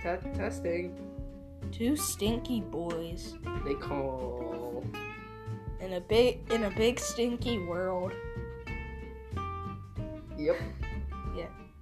Testing. Two stinky boys They call. in a big stinky world. Yep. Yeah.